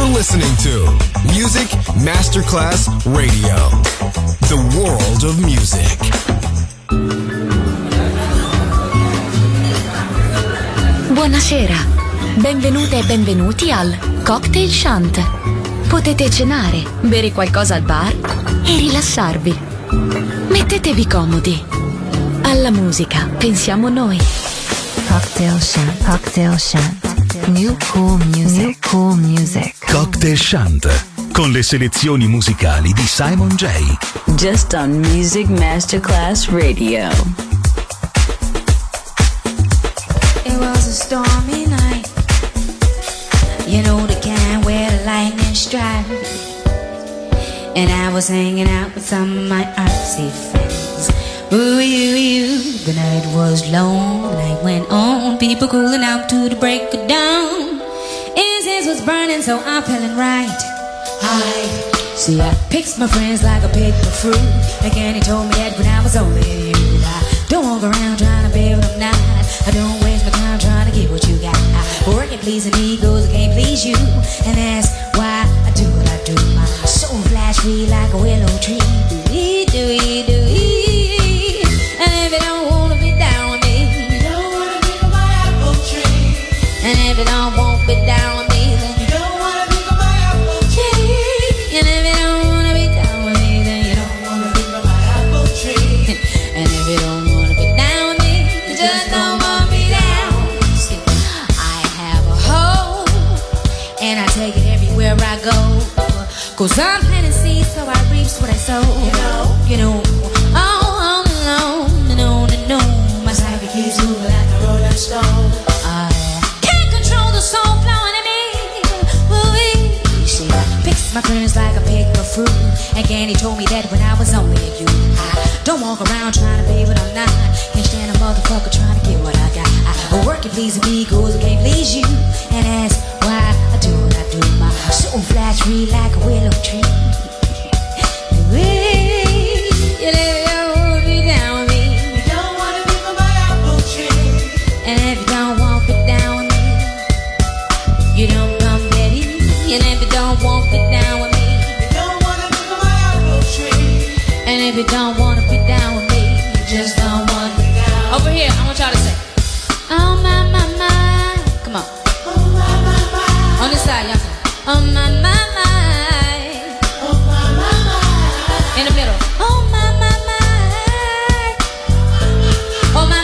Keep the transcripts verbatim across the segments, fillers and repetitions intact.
listening to Music Masterclass Radio, the world of music. Buonasera, benvenute e benvenuti al Cocktail Shant. Potete cenare, bere qualcosa al bar e rilassarvi. Mettetevi comodi. Alla musica pensiamo noi. Cocktail Shant, Cocktail Shant. New cool music, New cool music. Cocktail Shant, con le selezioni musicali di Simon J. Just on Music Masterclass Radio. It was a stormy night, you know the kind where the lightning strikes. And I was hanging out with some of my artsy friends. Ooh, you, you. The night was long, the night went on, people cooling out to the break of dawn. Incense was burning, so I'm feeling right. I see, I picked my friends like I picked the fruit. Again, he told me that when I was only you, I don't walk around trying to be what I'm not. I don't waste my time trying to get what you got. I work and pleasing egos, I can't please you, and that's why I do what I do. My soul flash free like a willow tree. Do-ee, do-ee, do-ee. And if you don't wanna be down with me, you don't wanna be on my apple tree. And if you don't want to be down with me, then you don't wanna be on my apple tree. And if you don't wanna be down with me, then you don't wanna be on my apple tree. And if you don't wanna be down with me, you just don't wanna be down. See, I have a hoe, and I take it everywhere I go. Cause I'm planting seeds, so I reap what I sow. You know, you know, oh. My cycle keeps moving like a rolling stone. I can't control the soul flowing in me. Ooh-wee. See, I picked my friends like I picked a fruit. Again, he told me that when I was only a youth. I don't walk around trying to be what I'm not. Can't stand a motherfucker trying to get what I got. I work and please me, goes I can't please you. And that's why I do what I do. My soul flash free like a willow tree. Ooh-wee. You don't wanna be down with me. And if you don't want to be down with me, you don't come ready. And if you don't want to be down with me, you don't want to be on my apple tree. And if you don't want to be down with me, you just don't want to be down. Over here, I want y'all to say, oh my, my, my. Come on. Oh my, my, my. On this side, y'all say, oh my, my, my. Oh my, my, my. In the middle, oh my, my, my. Oh my, my.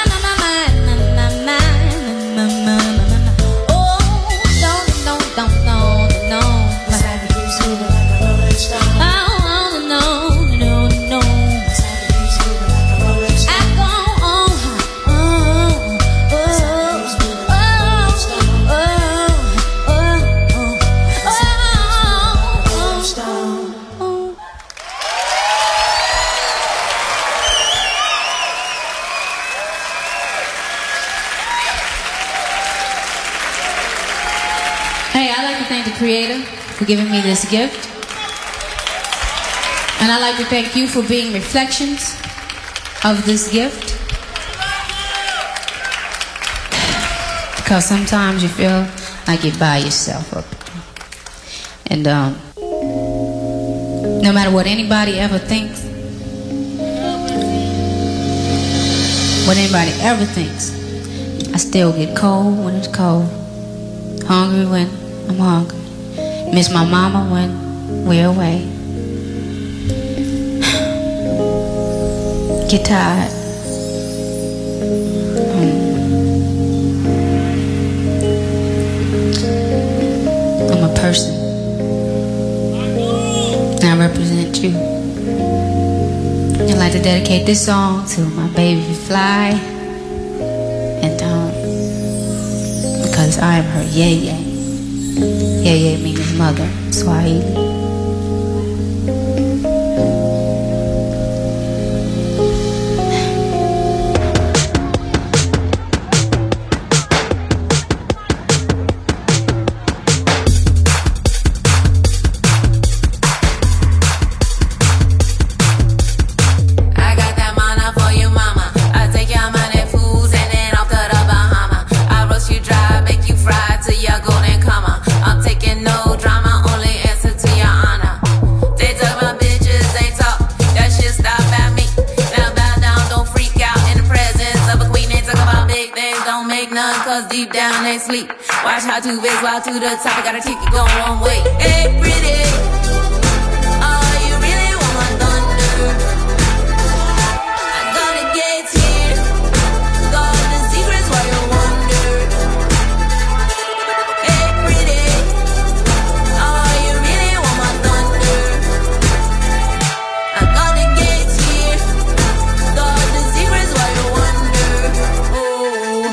Creator for giving me this gift, and I'd like to thank you for being reflections of this gift, because sometimes you feel like you're by yourself up, and um, no matter what anybody ever thinks, what anybody ever thinks, I still get cold when it's cold, hungry when I'm hungry. Miss my mama when we're away. Get tired. I'm a person. And I represent you. I'd like to dedicate this song to my baby Fly. And um, because I am her yay-yay. Yeye means mother, Swahili. Dry, make you fry till your golden come on. I'm taking no drama. deep down they sleep. Watch how two ways walk to the top. I got a ticket going one way. Hey, pretty. Oh, you really want my thunder? I got the gates here. Got the secrets while you wonder. Hey, pretty. Oh, you really want my thunder? I got the gates here. Got the secrets while you wonder. Oh.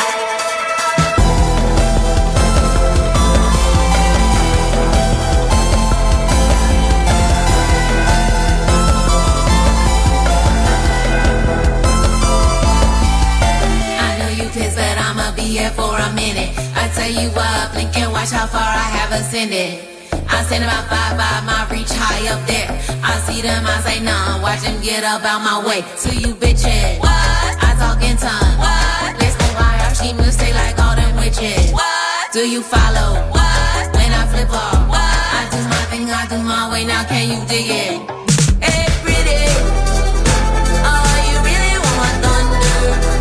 But I'ma be here for a minute. I tell you what, blink and watch how far I have ascended. I stand about five five, my reach high up there. I see them, I say none, watch them get up out my way. To you bitches, what? I talk in tongues. What? Let's go higher, she moves stay like all them witches. What? Do you follow? What? When I flip off, what? I do my thing, I do my way, now can you dig it? Hey, pretty. Oh, you really want my thunder?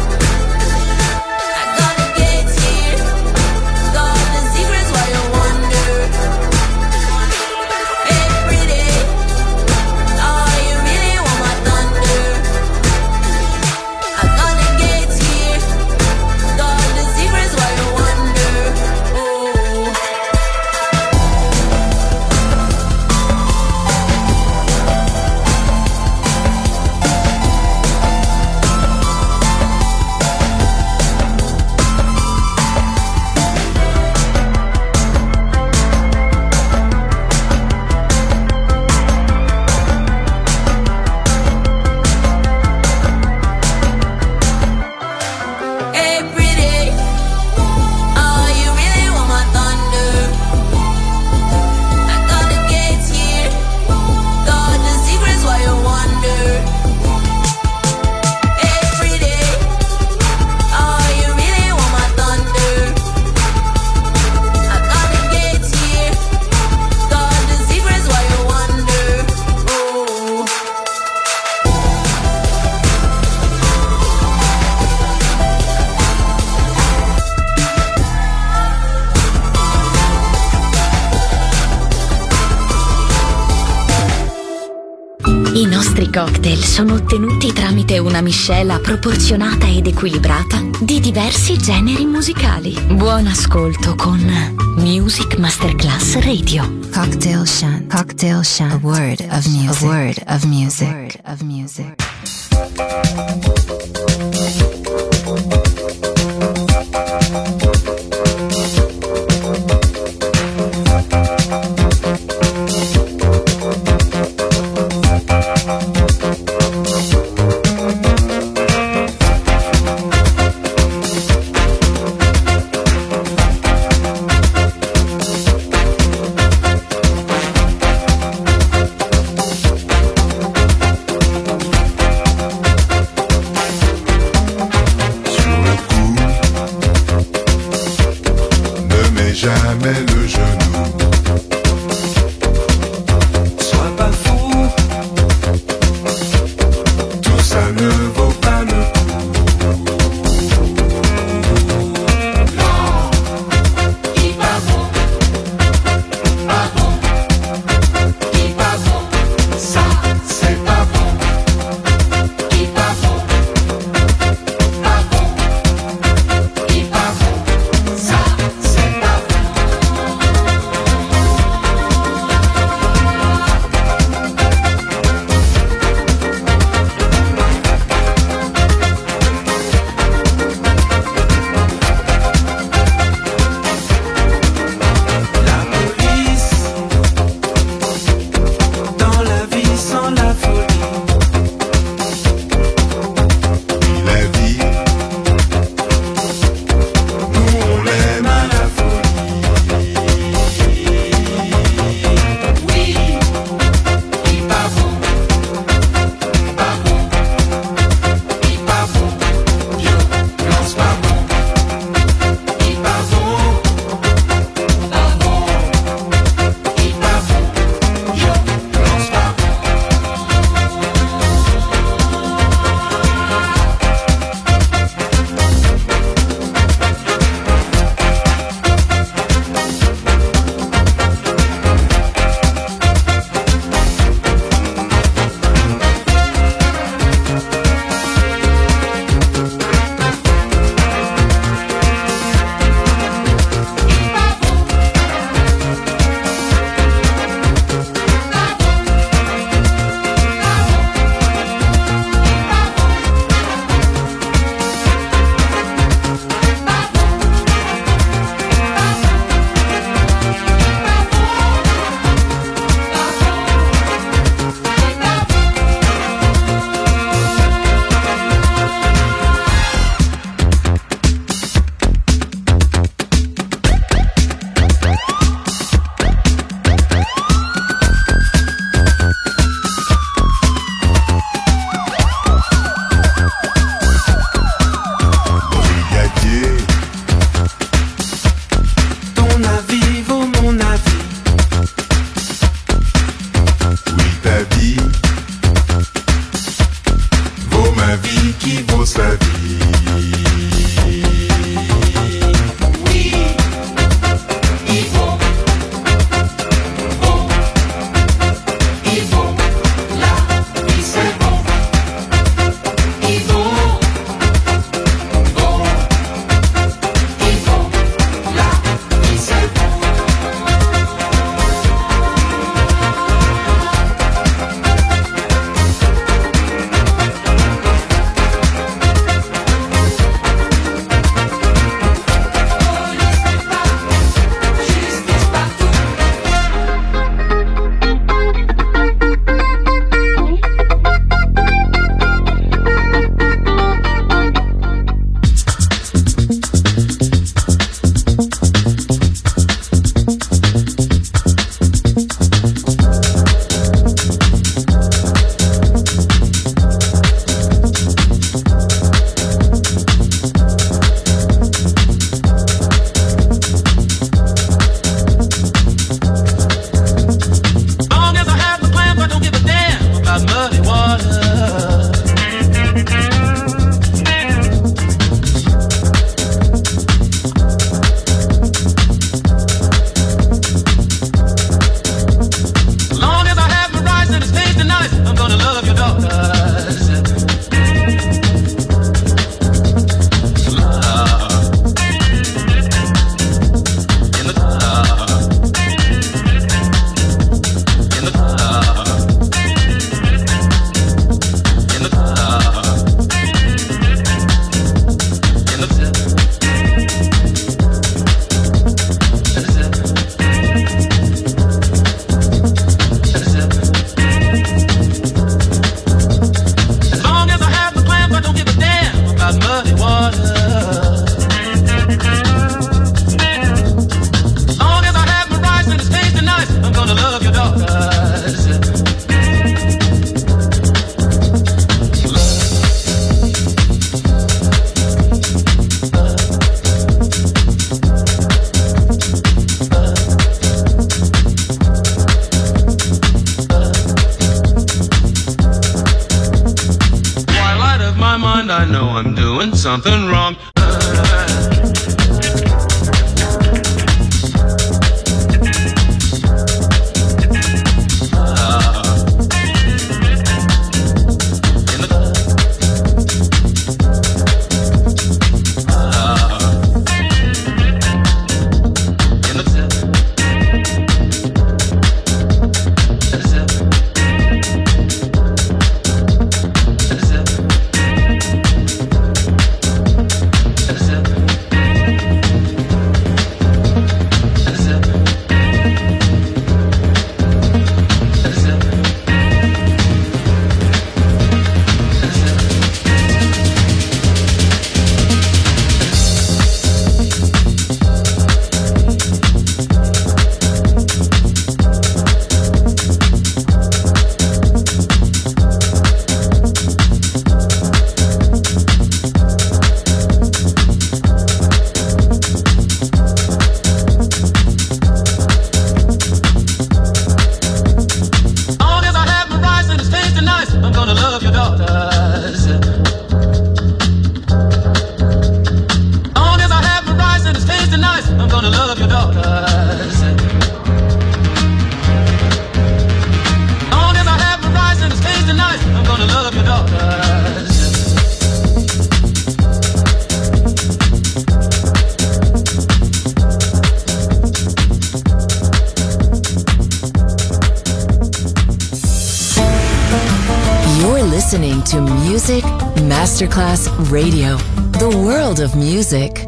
I nostri cocktail sono ottenuti tramite una miscela proporzionata ed equilibrata di diversi generi musicali. Buon ascolto con Music Masterclass Radio. Cocktail Shant. Cocktail Shant. A word of music. A word of music. A word of music. something wrong. Listening to Music Masterclass Radio, the world of music.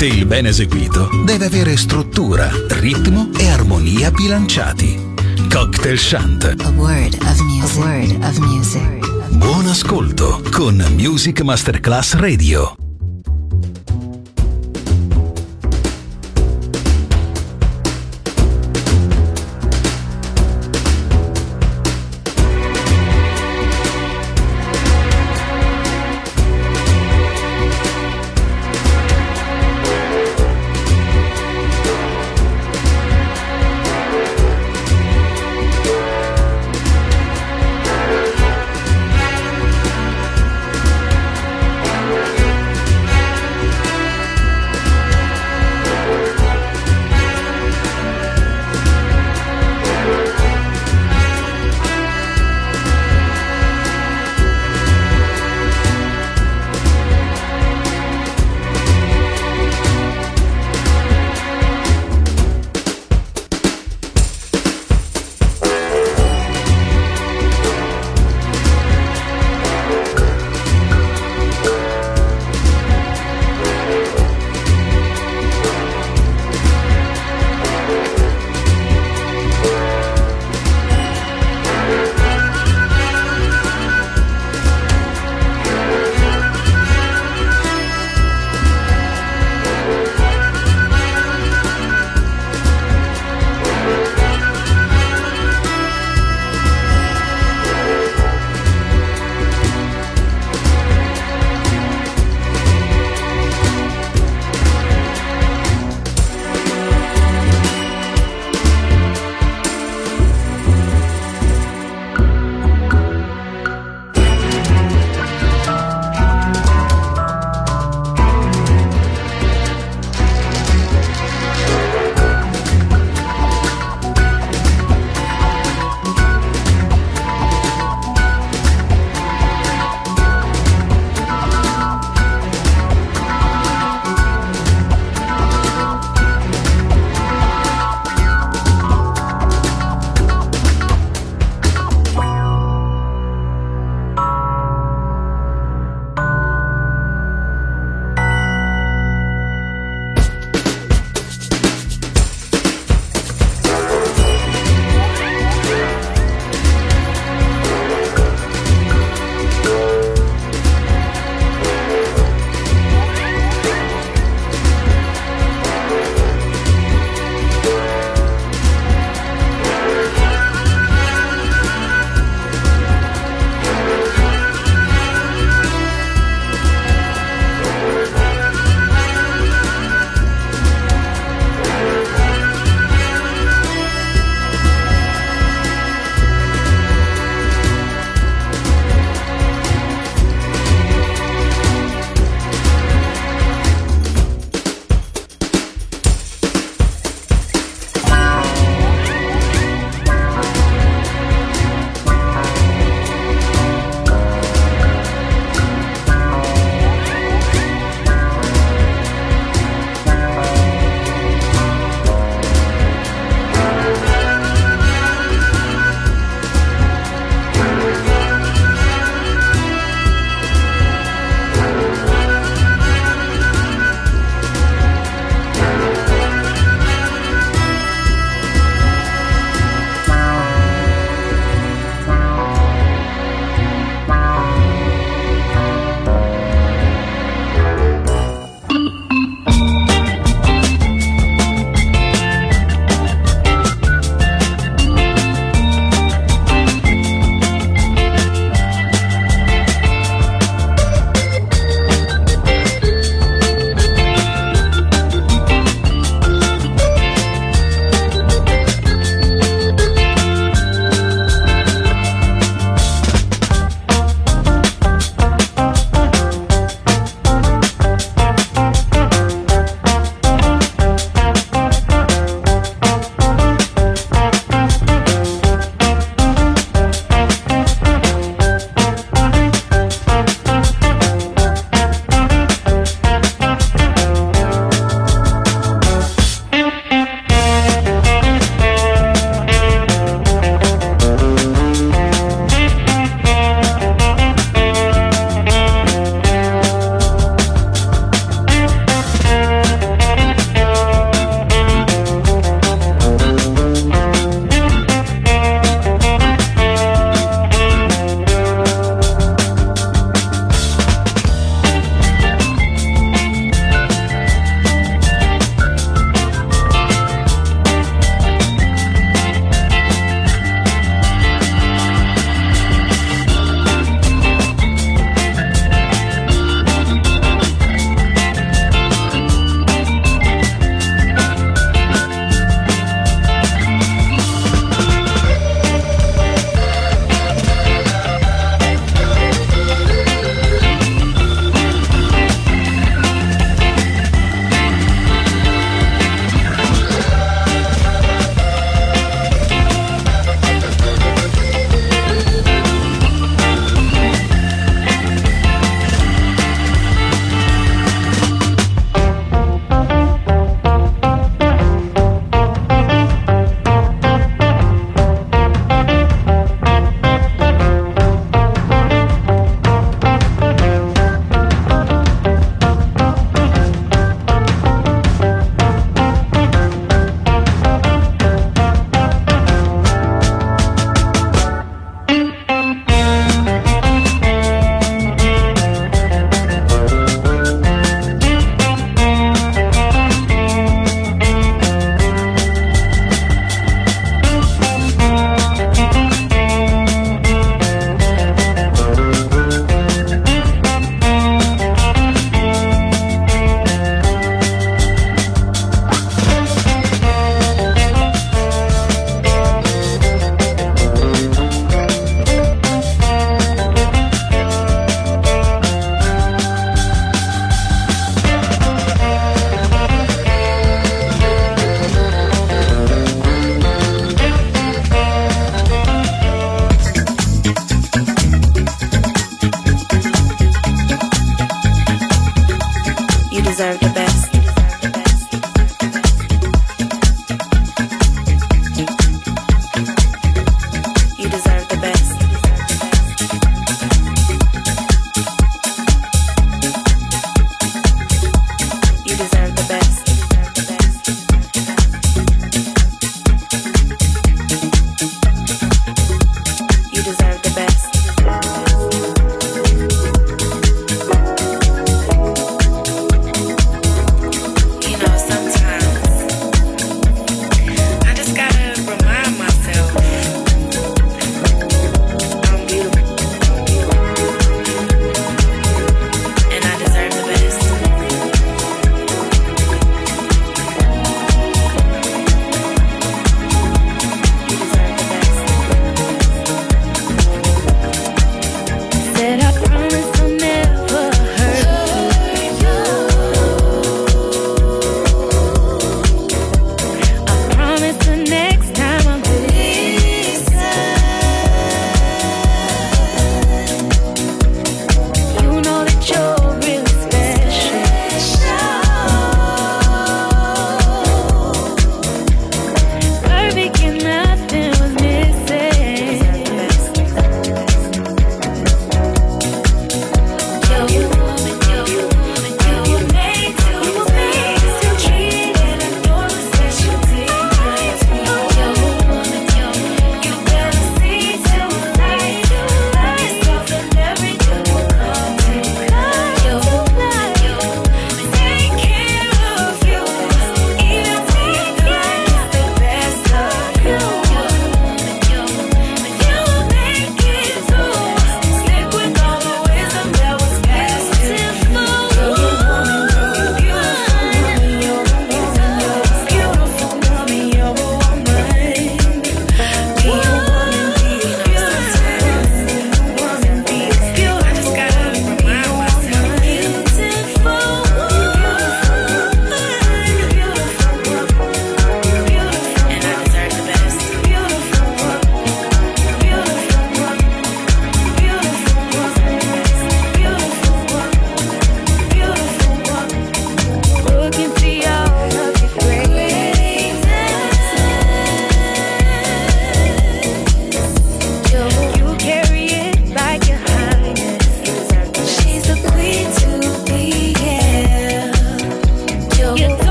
cocktail ben eseguito deve avere struttura, ritmo e armonia bilanciati. Cocktail Chant. A word of music. A word of music. Buon ascolto con Music Masterclass Radio. We'll be right back.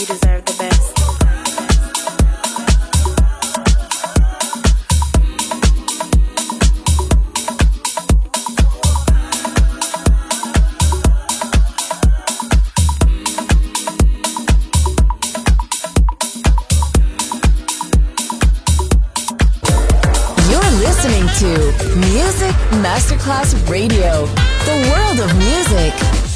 deserve the best. Listening to Music Masterclass Radio, the world of music.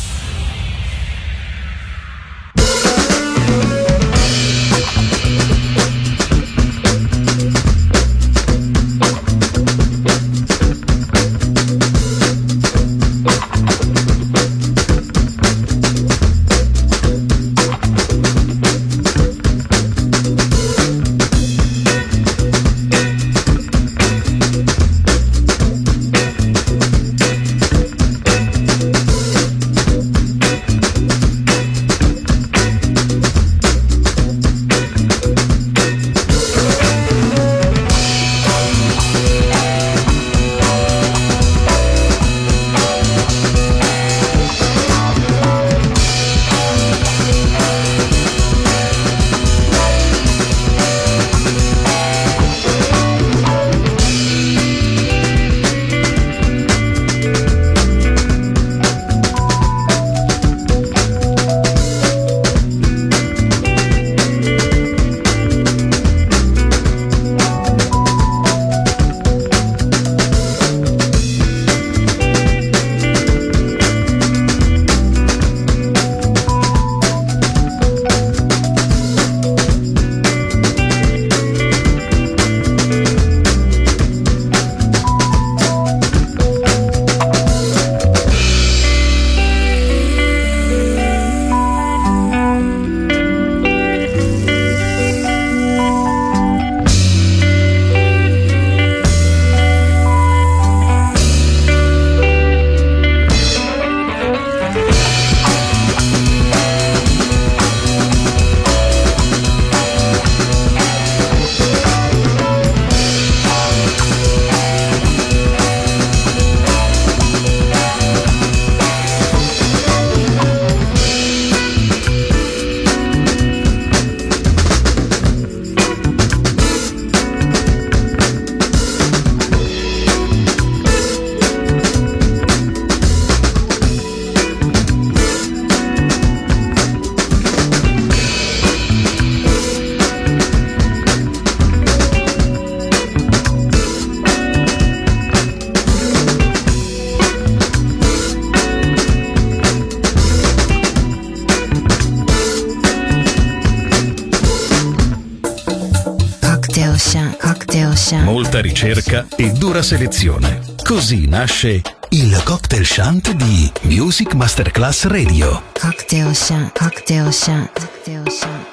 Molta ricerca e dura selezione. Così nasce il Cocktail Shant di Music Masterclass Radio. Cocktail Shant, Cocktail Shant, Cocktail Shant.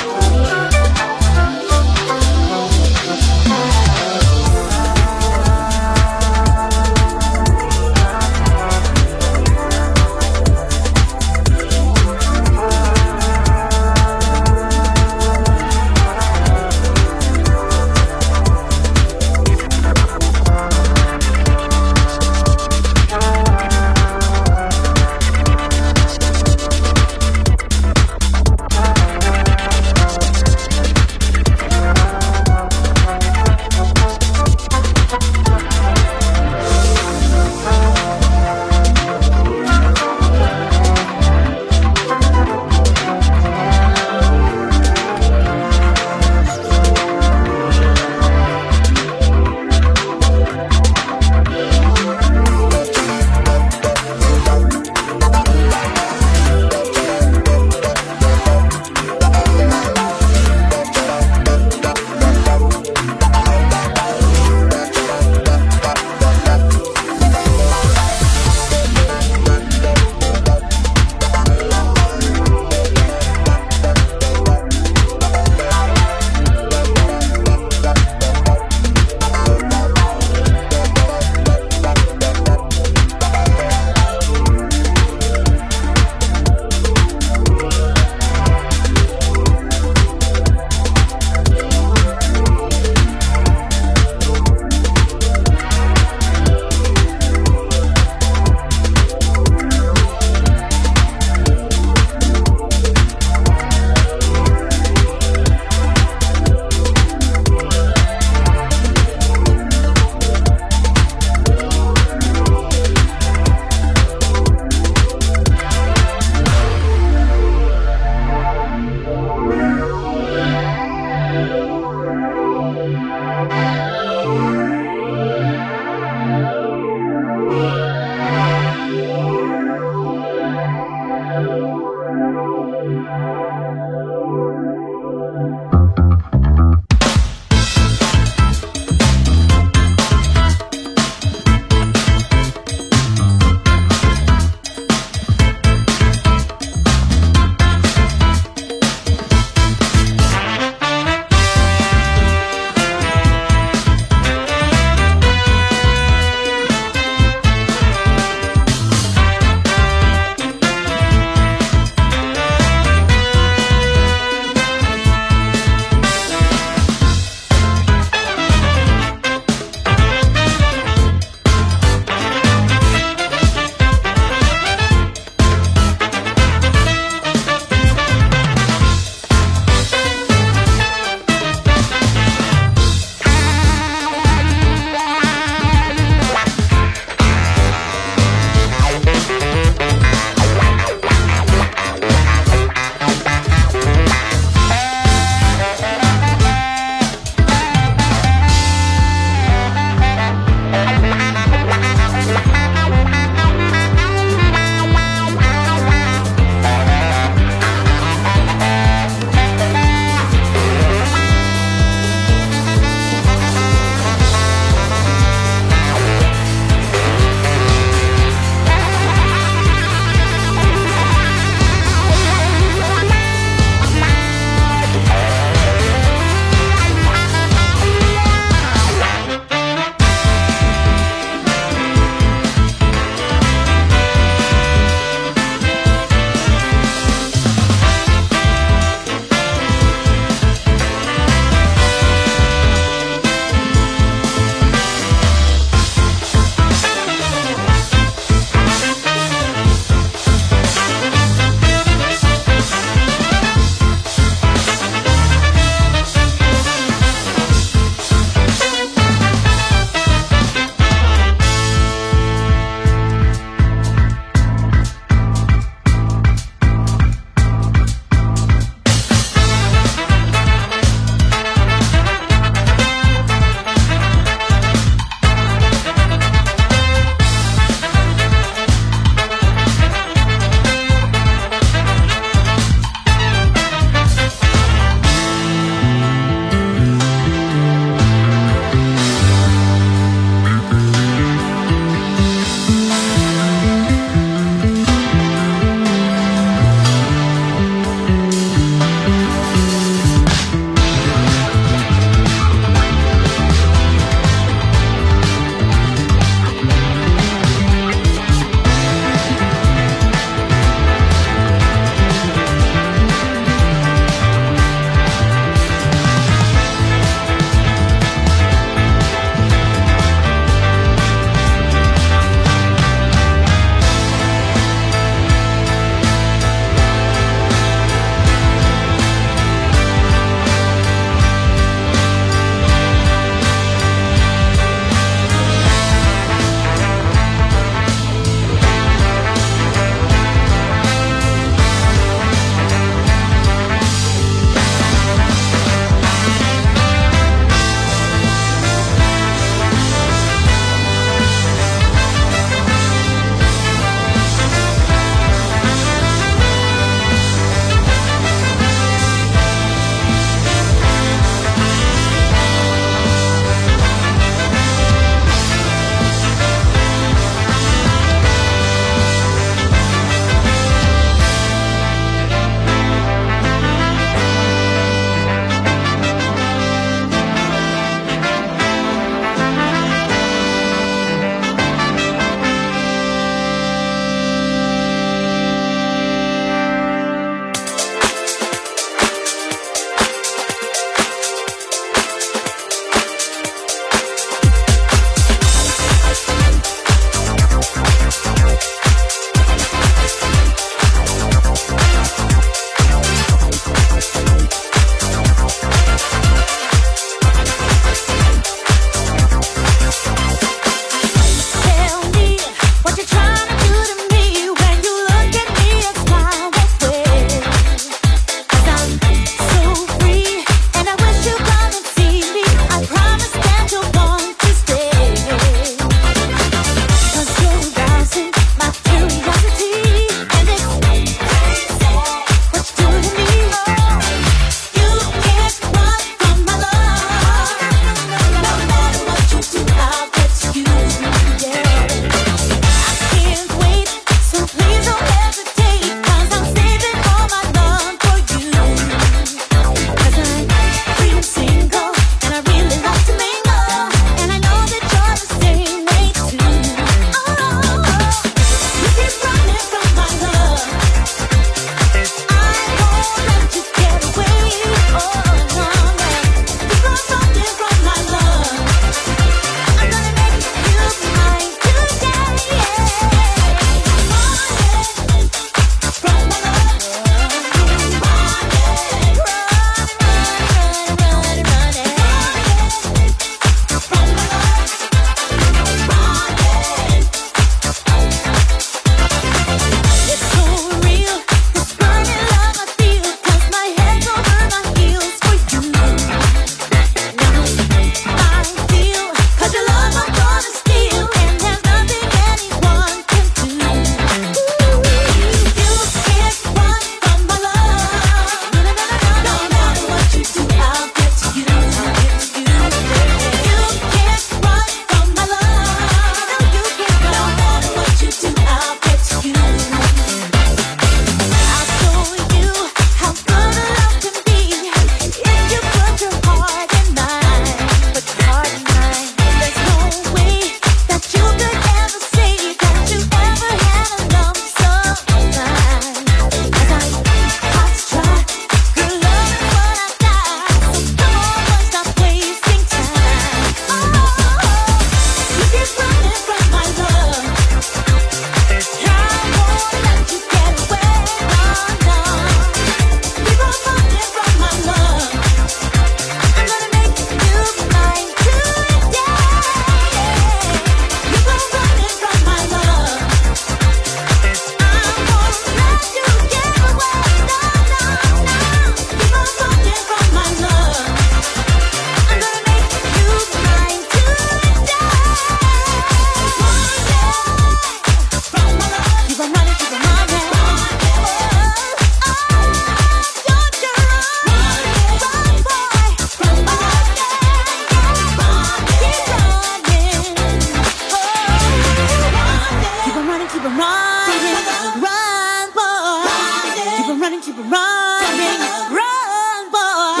running, run, boy.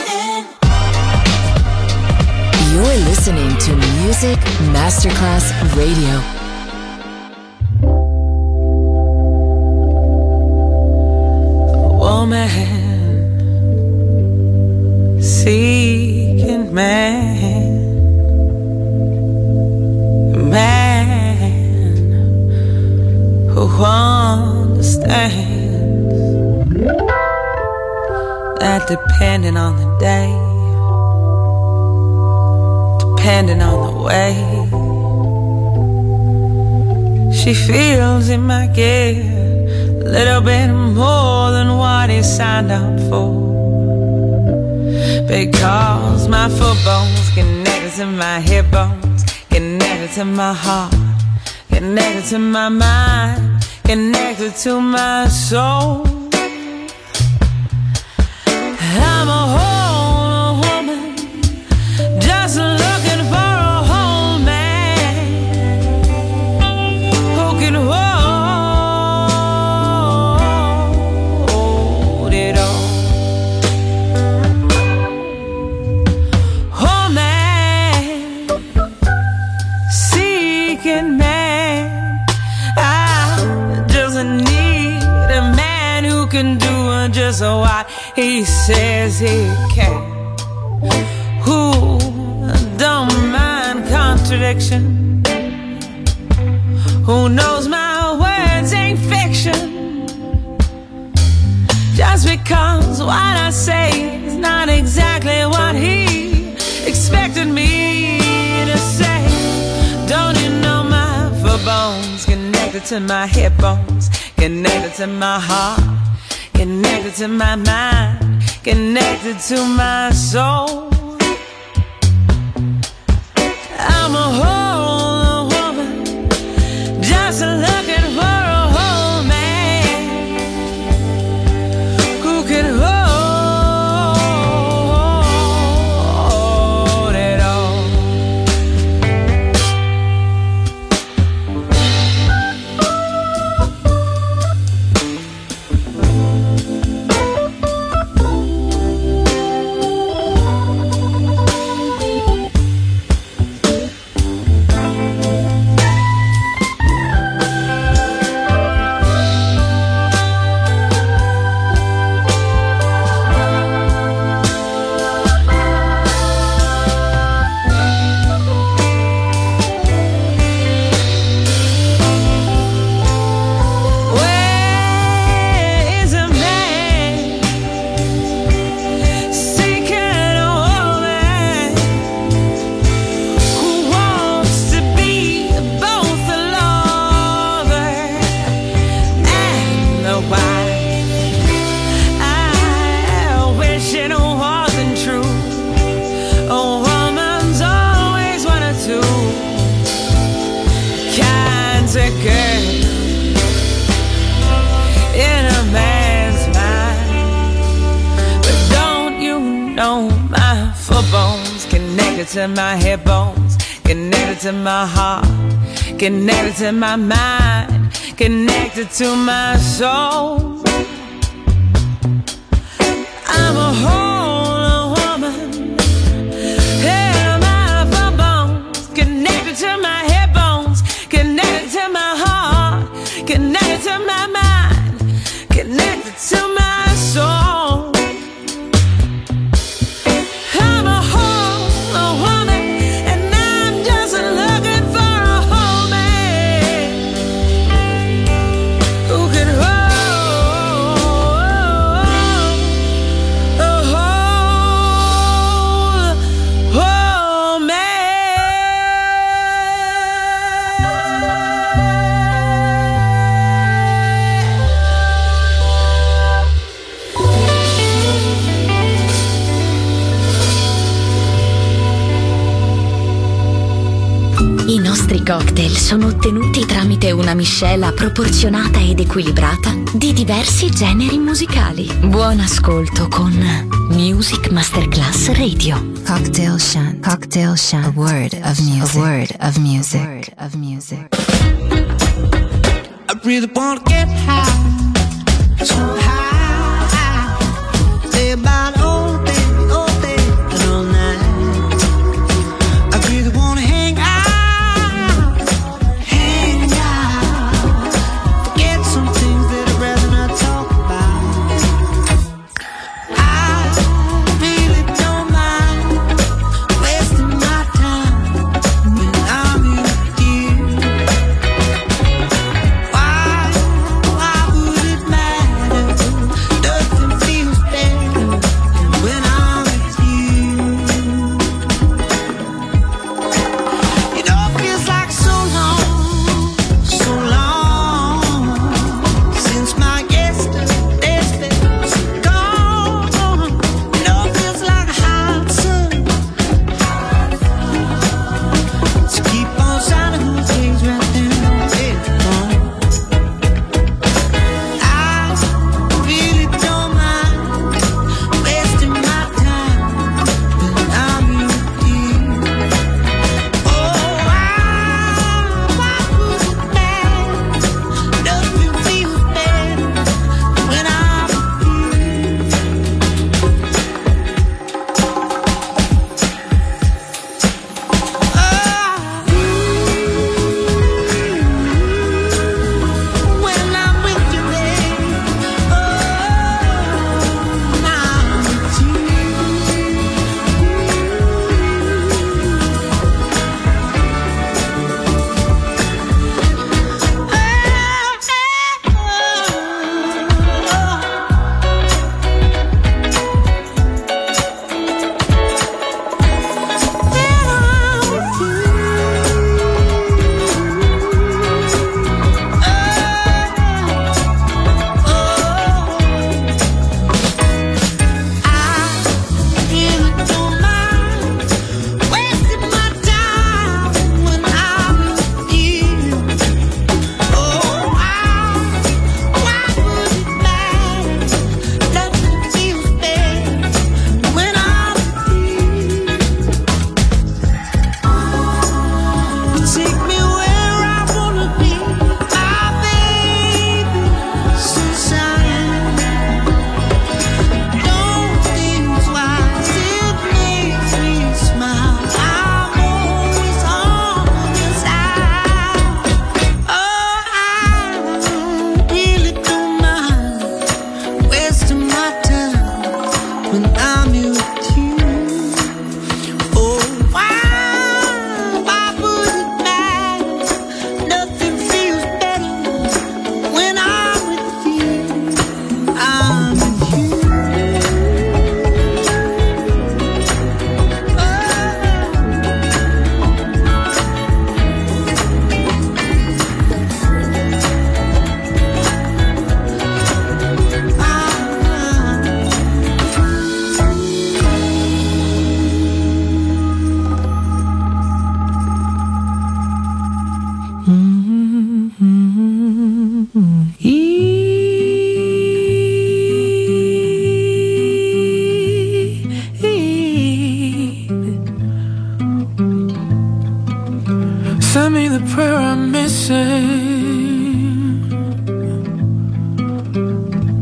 You're listening to Music Masterclass Radio. Woman seeking man, man who understands that depending on the day, depending on the way, she feels it might get a little bit more than what he signed up for. Because my foot bones connected to my hip bones, connected to my heart, connected to my mind, connected to my soul. I'm a whole woman, just looking for a whole man who can hold it all. Whole man, seeking man, I just need a man who can do just what he says he can, who don't mind contradiction, who knows my words ain't fiction, just because what I say is not exactly what he expected me to say. Don't you know my foot bones connected to my hip bones, connected to my heart, connected to my mind, connected to my soul. I'm a whole woman, just looking for a whole man who can hold it all. To my hip bones, connected to my heart, connected to my mind, connected to my soul. I'm a whole woman, and my foot bones connected to my hip bones, connected to my heart, connected to my mind, connected to my soul. I'm a whole I nostri cocktail sono ottenuti tramite una miscela proporzionata ed equilibrata di diversi generi musicali. Buon ascolto con Music Masterclass Radio. Cocktail Shant. Cocktail Shant. A word of music. A word of music. A word of music. I really wanna get high, so high.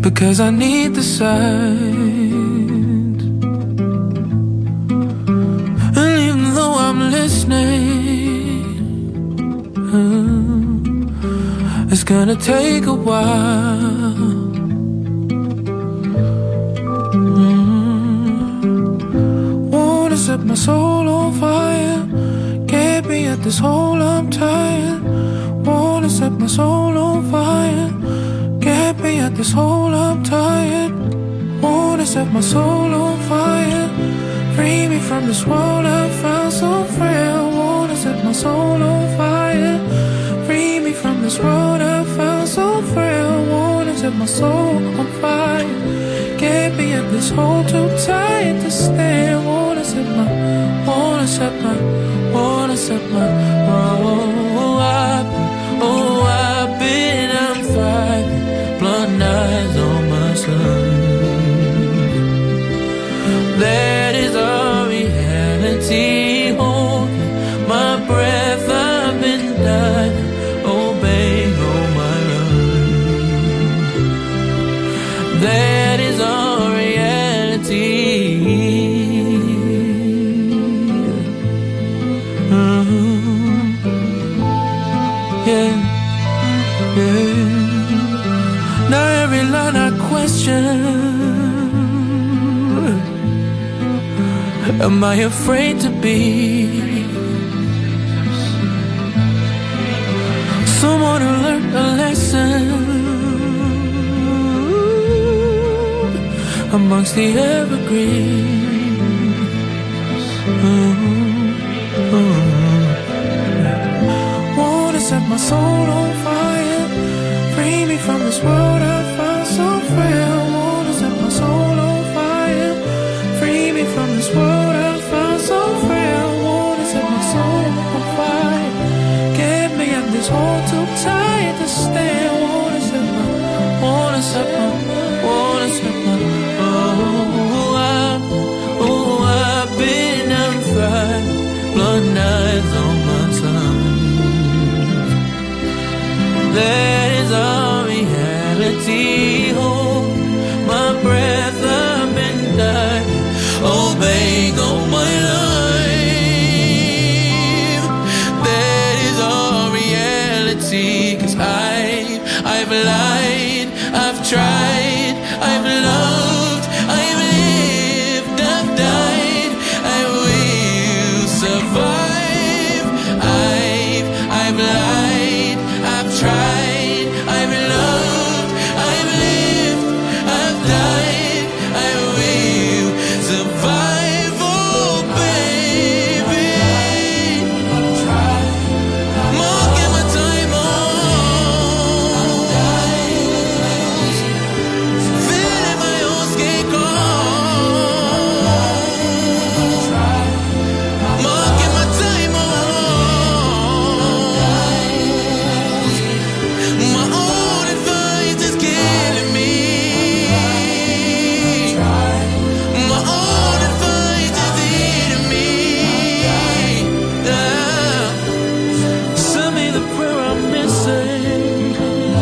because I need the signs. And even though I'm listening, uh, it's gonna take a while. Mm. Wanna set my soul on fire, get me at this hole, I'm tired. Wanna set my soul on fire, get me at this hole, I'm tired. Wanna set my soul on fire, free me from this world I found so frail. Wanna set my soul on fire, free me from this world I found so frail. Wanna set my soul on fire, get me at this hole too tight to stay. Wanna set my, wanna set my, wanna set my, oh, I've been, oh, I've been, I'm thriving, blood eyes on my son. That is our reality. Hold my breath, I've been diving, obeying all my run. That is our reality. Uh-huh. Yeah, yeah. Now every line I question, am I afraid to be someone who learned a lesson amongst the evergreens? Oh, oh. Wanna set my soul on fire, free me from this world I found so frail. Wanna set my soul on fire, free me from this world I found so frail. Wanna set my soul on fire, get me at this hole too tight to stay. Wanna set my, wanna set my, wanna set my, oh, I've, oh, I've been on fire, blood eyes on my son. That is our reality. Hold my breath, I've been dying, obeying all my life. That is our reality. 'Cause I, I've lied, I've tried, I've loved, I've lived, I've died, I will survive. I've, I've lied, I've tried, I've loved, I've lived, I've died, I will survive. Oh baby, more give my time on, feeling my own skin cold. More give my time on, my own advice is killing me. My own advice is eating me. Yeah. Send me the prayer I'm missing.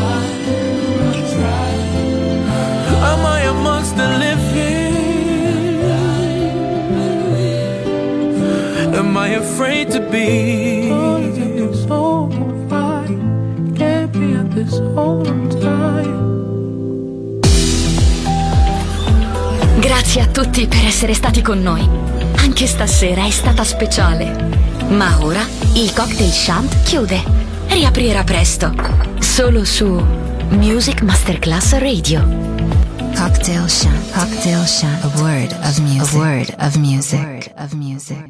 Am I amongst the living? Am I afraid to be? Get me at this hole I'm tired. Grazie a tutti per essere stati con noi. Anche stasera è stata speciale. Ma ora il Cocktail Shant chiude. Riaprirà presto. Solo su Music Masterclass Radio. Cocktail Shant. Cocktail Shant. A word of music. A word of music. A word of music.